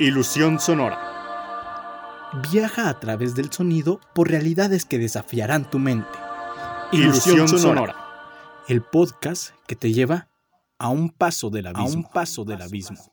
Ilusión sonora. Viaja a través del sonido por realidades que desafiarán tu mente. Ilusión sonora. El podcast que te lleva a un paso del abismo.